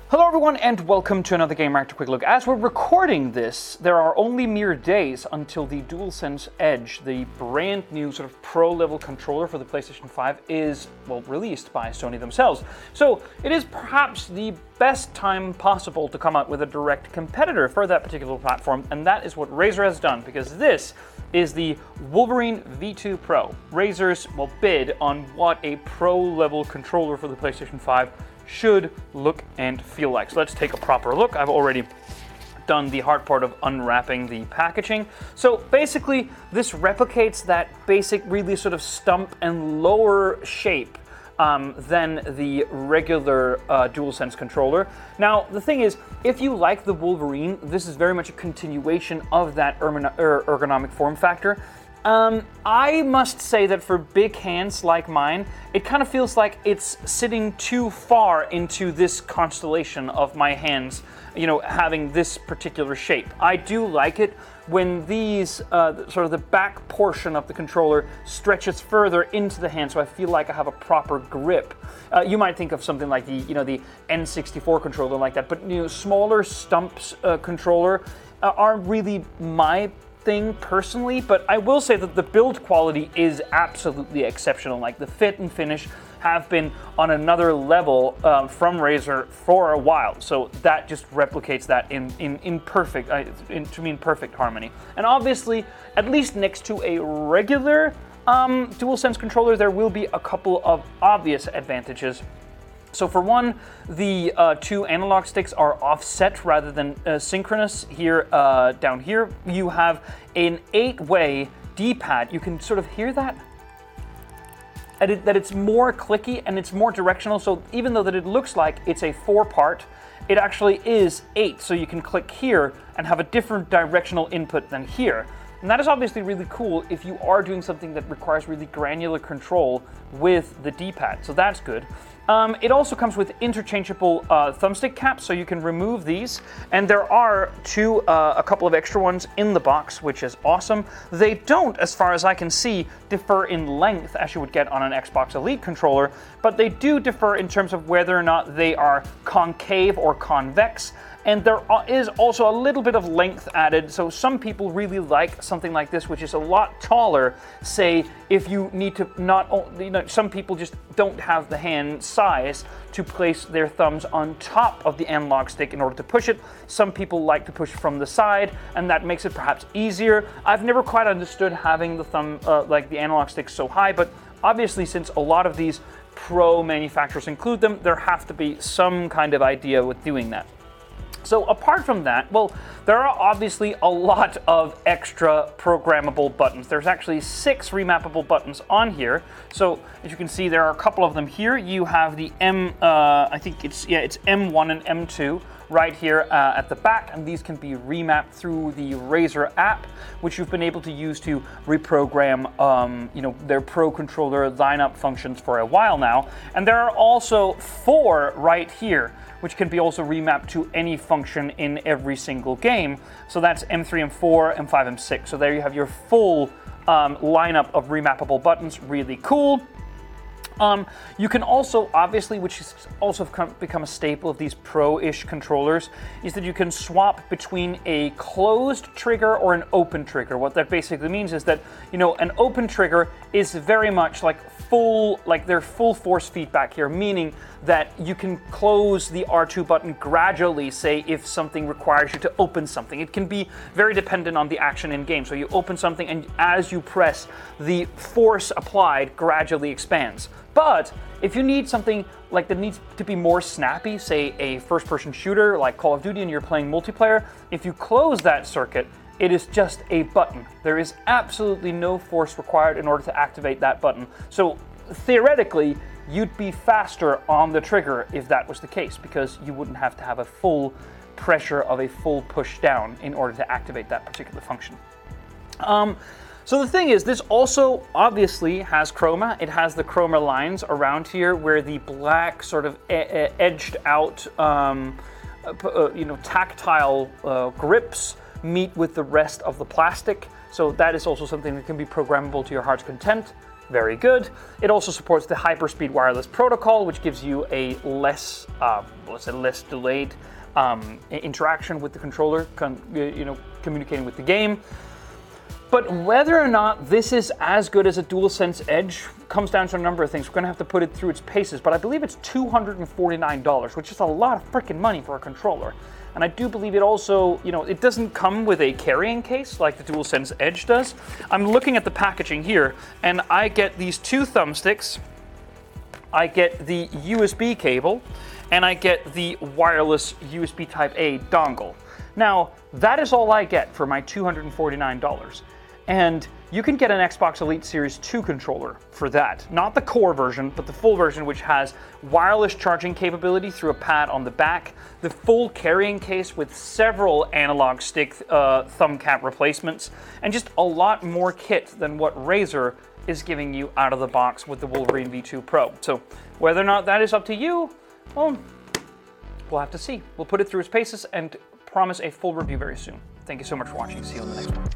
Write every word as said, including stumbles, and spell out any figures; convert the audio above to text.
Hello everyone and welcome to another Gamereactor Quick Look. As we're recording this, there are only mere days until the DualSense Edge, the brand new sort of pro-level controller for the PlayStation five, is, well, released by Sony themselves. So it is perhaps the best time possible to come out with a direct competitor for that particular platform, and that is what Razer has done, because this is the Wolverine V two Pro. Razer's, well, bid on what a pro-level controller for the PlayStation five should look and feel like. So let's take a proper look. I've already done the hard part of unwrapping the packaging. So basically, this replicates that basic, really sort of stump and lower shape um, than the regular uh, DualSense controller. Now, the thing is, if you like the Wolverine, this is very much a continuation of that ergonomic form factor. Um, I must say that for big hands like mine, it kind of feels like it's sitting too far into this constellation of my hands, you know, having this particular shape. I do like it when these, uh, sort of the back portion of the controller stretches further into the hand, so I feel like I have a proper grip. Uh, you might think of something like the, you know, the N sixty-four controller like that, but, you know, smaller stumps uh, controller uh, aren't really my thing personally, but I will say that the build quality is absolutely exceptional. Like, the fit and finish have been on another level um, from Razer for a while, so that just replicates that in in, in perfect, uh, in, to mean perfect harmony. And obviously, at least next to a regular um, DualSense controller, there will be a couple of obvious advantages. So for one, the uh, two analog sticks are offset rather than uh, synchronous. Here, uh, down here, you have an eight-way D-pad. You can sort of hear that? And it, that it's more clicky and it's more directional. So even though that it looks like it's a four-part, it actually is eight. So you can click here and have a different directional input than here. And that is obviously really cool if you are doing something that requires really granular control with the D-pad. So that's good. Um, it also comes with interchangeable uh, thumbstick caps, so you can remove these. And there are two, uh, a couple of extra ones in the box, which is awesome. They don't, as far as I can see, differ in length as you would get on an Xbox Elite controller, but they do differ in terms of whether or not they are concave or convex. And there is also a little bit of length added, so some people really like something like this, which is a lot taller. Say, if you need to not, you know, some people just don't have the hand size to place their thumbs on top of the analog stick in order to push it. Some people like to push from the side, and that makes it perhaps easier. I've never quite understood having the thumb, uh, like the analog stick so high, but obviously since a lot of these pro manufacturers include them, there have to be some kind of idea with doing that. So apart from that, well, there are obviously a lot of extra programmable buttons. There's actually six remappable buttons on here. So as you can see, there are a couple of them here. You have the M, uh, I think it's, yeah, it's M one and M two right here uh, at the back, and these can be remapped through the Razer app, which you've been able to use to reprogram, um, you know, their Pro Controller lineup functions for a while now. And there are also four right here, which can be also remapped to any function in every single game. So that's M three, M four, M five, M six. So there you have your full um, lineup of remappable buttons. Really cool. Um, you can also, obviously, which has also become a staple of these pro-ish controllers, is that you can swap between a closed trigger or an open trigger. What that basically means is that, you know, an open trigger is very much like full, like their full force feedback here, meaning that you can close the R two button gradually, say if something requires you to open something. It can be very dependent on the action in game. So you open something, and as you press, the force applied gradually expands. But if you need something like that needs to be more snappy, say a first-person shooter like Call of Duty and you're playing multiplayer, if you close that circuit, it is just a button. There is absolutely no force required in order to activate that button. So theoretically, you'd be faster on the trigger if that was the case, because you wouldn't have to have a full pressure of a full push down in order to activate that particular function. Um, So the thing is, this also obviously has chroma. It has the chroma lines around here where the black sort of e- edged out, um, uh, you know, tactile uh, grips meet with the rest of the plastic. So that is also something that can be programmable to your heart's content. Very good. It also supports the Hyperspeed Wireless Protocol, which gives you a less, uh, let's say, less delayed um, interaction with the controller, con- you know, communicating with the game. But whether or not this is as good as a DualSense Edge comes down to a number of things. We're going to have to put it through its paces, but I believe it's two hundred forty-nine dollars, which is a lot of freaking money for a controller. And I do believe it also, you know, it doesn't come with a carrying case like the DualSense Edge does. I'm looking at the packaging here, and I get these two thumbsticks, I get the U S B cable, and I get the wireless U S B Type A dongle. Now, that is all I get for my two hundred forty-nine dollars. And you can get an Xbox Elite Series two controller for that. Not the core version, but the full version, which has wireless charging capability through a pad on the back, the full carrying case with several analog stick uh, thumb cap replacements, and just a lot more kit than what Razer is giving you out of the box with the Wolverine V two Pro. So whether or not that is up to you, well, we'll have to see. We'll put it through its paces and promise a full review very soon. Thank you so much for watching. See you on the next one.